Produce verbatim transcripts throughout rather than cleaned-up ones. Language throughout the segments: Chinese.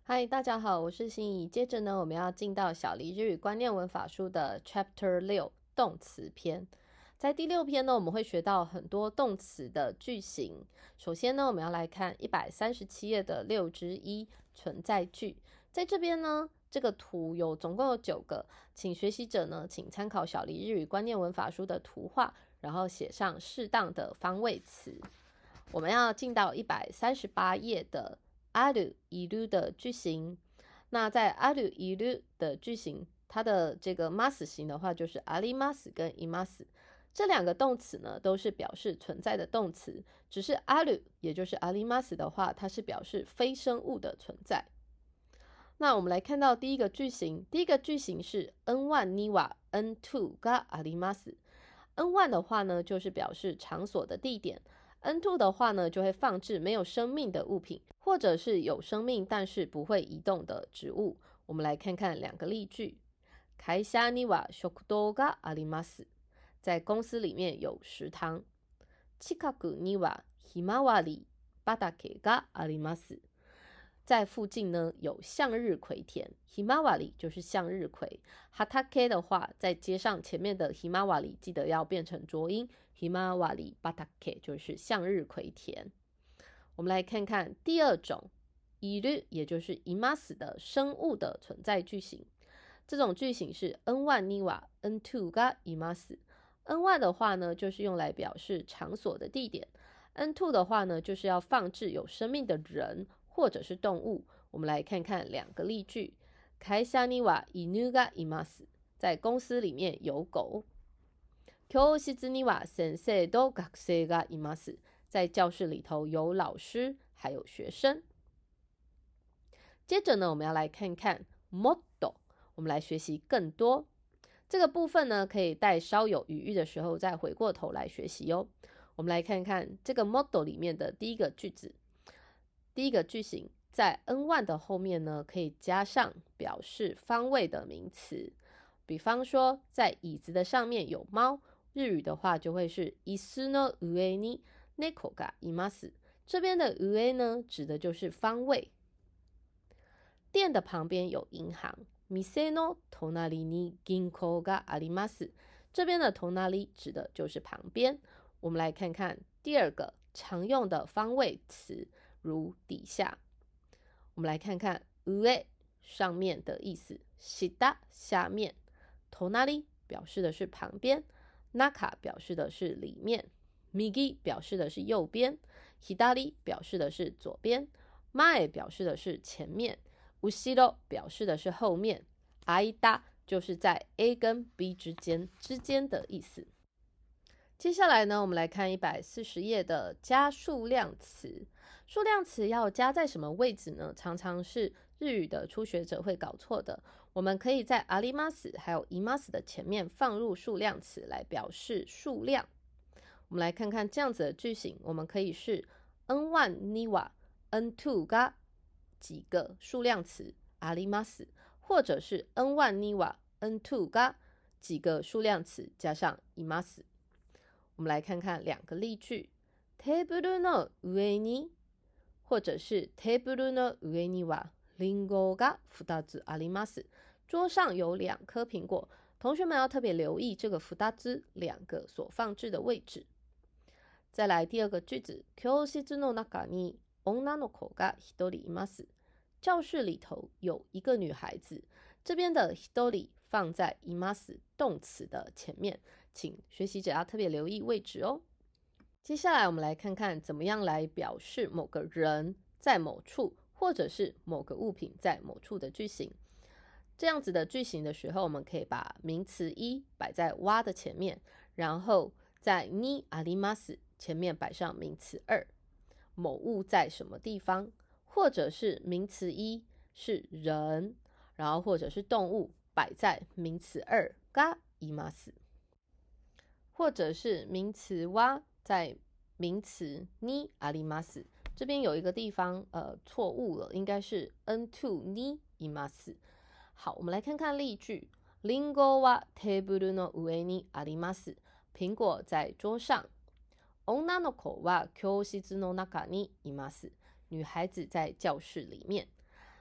嗨，大家好，我是心怡。接着呢，我们要进到小黎日语观念文法书的 Chapter 六动词篇。在第六篇呢，我们会学到很多动词的句型。首先呢，我们要来看一百三十七页的六之一存在句。在这边呢，这个图有总共有九个，请学习者呢，请参考小黎日语观念文法书的图画，然后写上适当的方位词。我们要进到一百三十八页的ある、いる的句型。那在ある、いる的句型，它的这个ます型的话，就是あります跟います。这两个动词呢，都是表示存在的动词，只是ある，也就是あります的话，它是表示非生物的存在。那我们来看到第一个句型，第一个句型是 N 一 には N に があります。N 一 的话呢，就是表示场所的地点。N 二 的话呢，就会放置没有生命的物品，或者是有生命但是不会移动的植物。我们来看看两个例句。会社には食堂があります。在公司里面有食堂。近くにはひまわり畑があります。在附近呢有向日葵田。ひまわり就是向日葵。畑的话，在接上前面的ひまわり，记得要变成浊音。ひまわり畑就是向日葵田。我们来看看第二种いる，也就是います的生物的存在句型。这种句型是 N 一 には N 二 がいます。N 一 的话呢，就是用来表示场所的地点。N 二 的话呢，就是要放置有生命的人或者是动物。我们来看看两个例句。会社には犬がいます。在公司里面有狗。教室には先生と学生がいます。在教室里头有老师还有学生。接着呢，我们要来看看 もっと，我们来学习更多。这个部分呢，可以待稍有余裕的时候再回过头来学习哦。我们来看看这个 もっと里面的第一个句子。第一个句型在 N 一 的后面呢，可以加上表示方位的名词。比方说，在椅子的上面有猫，日语的话就会是椅子の上に猫がいます。这边的上呢，指的就是方位。店的旁边有银行。店の隣に銀行があります。这边的隣指的就是旁边。我们来看看第二个常用的方位词，如底下。我们来看看上上面的意思，下下面，隣表示的是旁边，中表示的是里面，右表示的是右边，左表示的是左边，前表示的是前面，後ろ表示的是后面，間就是在 A 跟 B 之间之间的意思。接下来呢，我们来看一百四十页的加数量词。数量词要加在什么位置呢？常常是日语的初学者会搞错的。我们可以在あります还有います的前面放入数量词来表示数量。我们来看看这样子的句型，我们可以是 N 一 には N 二 が几个数量词あります，或者是 N 一 には N 二 が几个数量词加上います。我们来看看两个例句。テーブルの上に，或者是テーブルの上にはリンゴがふたつあります。桌上有两颗苹果。同学们要特别留意这个ふたつ两个所放置的位置。再来第二个句子。教室の中に女の子が一人います。教室里头有一个女孩子。这边的一人放在います动词的前面，请学习者要特别留意位置哦。接下来我们来看看怎么样来表示某个人在某处，或者是某个物品在某处的句型。这样子的句型的时候，我们可以把名词一摆在わ的前面，然后在にあります前面摆上名词二。某物在什么地方，或者是名词一是人，然后或者是动物摆在名词二がいます，或者是名词は在名词にあります。这边有一个地方呃错误了，应该是 N 二 にいます。好，我们来看看例句。リンゴはテーブルの上にあります。苹果在桌上。女の子は教室の中にいます。女孩子在教室里面。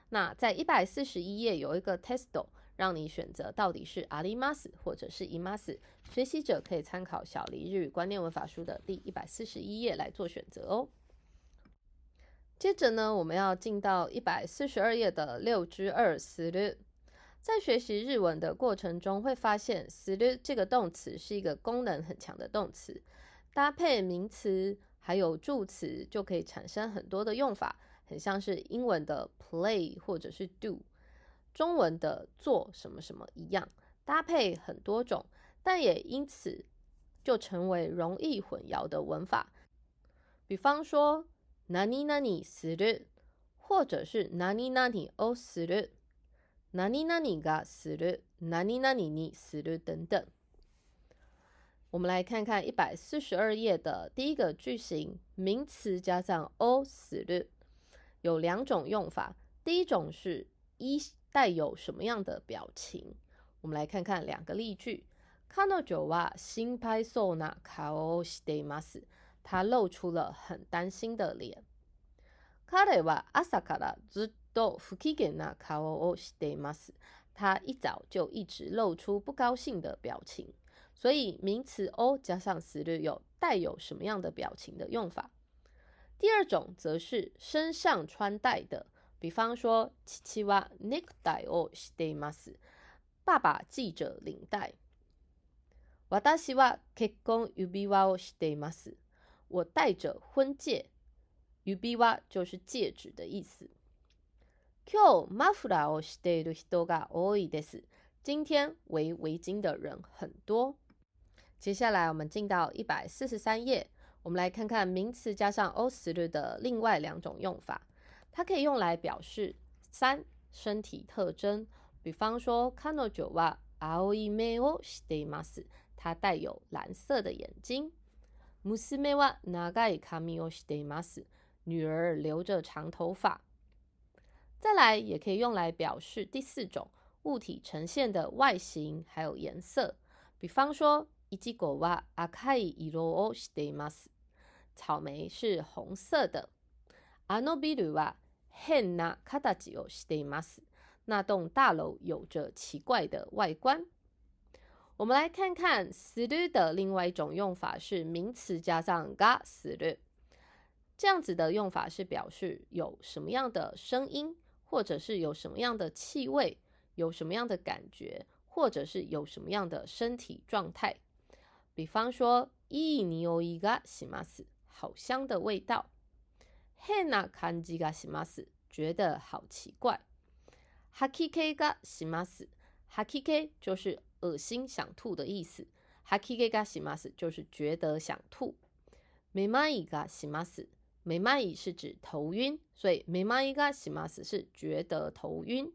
那在一百四十一页有一个 testo， 让你选择到底是あります或者是います。学习者可以参考小黎日语观念文法书的第一百四十一页来做选择哦。接着呢，我们要进到一百四十二页的六之二する。在学习日文的过程中，会发现する这个动词是一个功能很强的动词，搭配名词还有助词就可以产生很多的用法，很像是英文的 play 或者是 do， 中文的做什么什么一样，搭配很多种，但也因此就成为容易混淆的文法。比方说何々する，或者是何々をする、何々がする、何々にする等等。我们来看看一百四十二页的第一个句型，名词加上をする，有两种用法。第一种是一带有什么样的表情，我们来看看两个例句。彼女は心配そうな顔をしています。他露出了很担心的脸。彼は朝からずっと不機嫌な顔をしています。他一早就一直露出不高兴的表情。所以名词を加上する有带有什么样的表情的用法。第二种则是身上穿戴的，比方说父はネクタイをしています。爸爸系着领带。私は結婚指輪をしています。我戴着婚戒。指輪就是戒指的意思。今日マフラーをしている人が多いです。今天围围巾的人很多。接下来我们进到一百四十三页，我们来看看名词加上をする的另外两种用法。它可以用来表示三身体特征，比方说彼女は青い目をしています。她带有蓝色的眼睛。娘は長い髪をしています。女儿留着长头发。再来也可以用来表示第四种物体呈现的外形还有颜色，比方说いちごは赤い色をしています。草莓是红色的。あのビルは変な形をしています。那栋大楼有着奇怪的外观。我们来看看する的另外一种用法是名词加上がする。这样子的用法是表示有什么样的声音，或者是有什么样的气味，有什么样的感觉，或者是有什么样的身体状态。比方说いい匂いがします。好香的味道。変な感じがします。觉得好奇怪。吐き気がします。吐き気就是恶心想吐的意思。吐き気がします就是觉得想吐。めまいがします。めまい是指头晕，所以めまいがします是觉得头晕。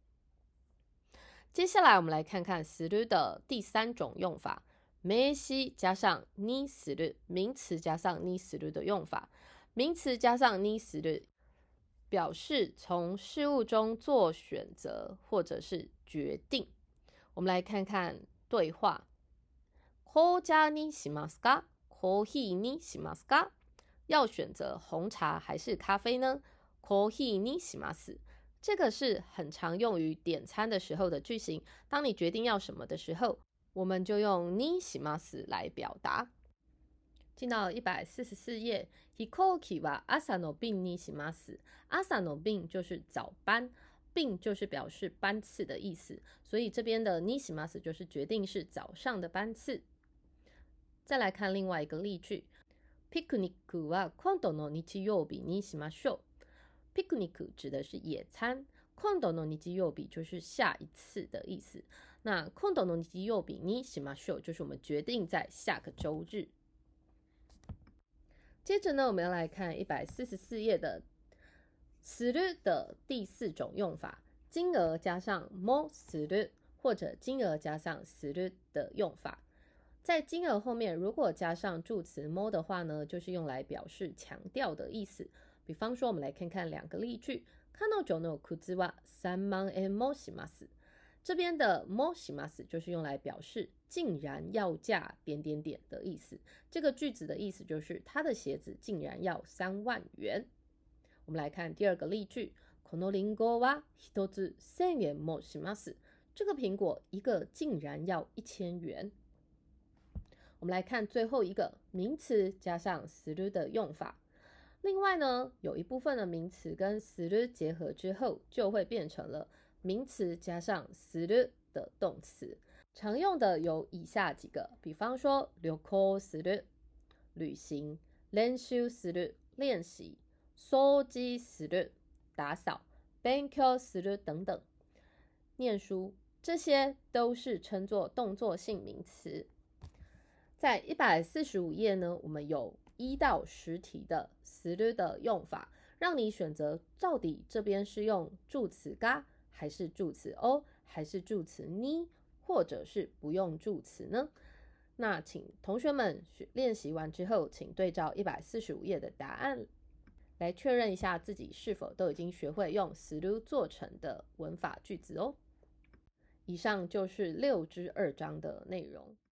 接下来我们来看看する的第三种用法，名詞加上にする，名词加上にする的用法。名词加上にする表示从事物中做选择或者是决定。我们来看看对话。紅茶にしますか？コーヒーにしますか？要选择红茶还是咖啡呢？コーヒーにします。这个是很常用于点餐的时候的句型。当你决定要什么的时候，我们就用にします来表达。进到一百四十四页，飛行機は朝の便にします。朝の便就是早班，便就是表示班次的意思，所以这边的にします就是决定是早上的班次。再来看另外一个例句。ピクニックは今度の日曜日にしましょう。ピクニック指的是野餐，今度の日曜日就是下一次的意思。那今度の日曜日にしましょう就是我们决定在下个周日。接着呢，我们要来看一百四十四页的する的第四种用法，金额加上もする或者金额加上する的用法。在金额后面如果加上助词も的话呢，就是用来表示强调的意思。比方说我们来看看两个例句。彼女の靴は三万円もします。这边的もします就是用来表示竟然要价点点点的意思。这个句子的意思就是他的鞋子竟然要三万元。我们来看第二个例句。 このリンゴは一つ千円もします。这个苹果一个竟然要一千元。我们来看最后一个名词加上する的用法。另外呢，有一部分的名词跟する结合之后，就会变成了名词加上する的动词。常用的有以下几个，比方说旅行する旅行、練習する练习、掃除する打扫、勉強する等等念书，这些都是称作动作性名词。在一百四十五页呢，我们有一到十题的する的用法，让你选择到底这边是用助词が还是助词を还是助词に，或者是不用助词呢？那请同学们练习完之后，请对照一百四十五页的答案，来确认一下自己是否都已经学会用する做成的文法句子哦。以上就是六之二章的内容。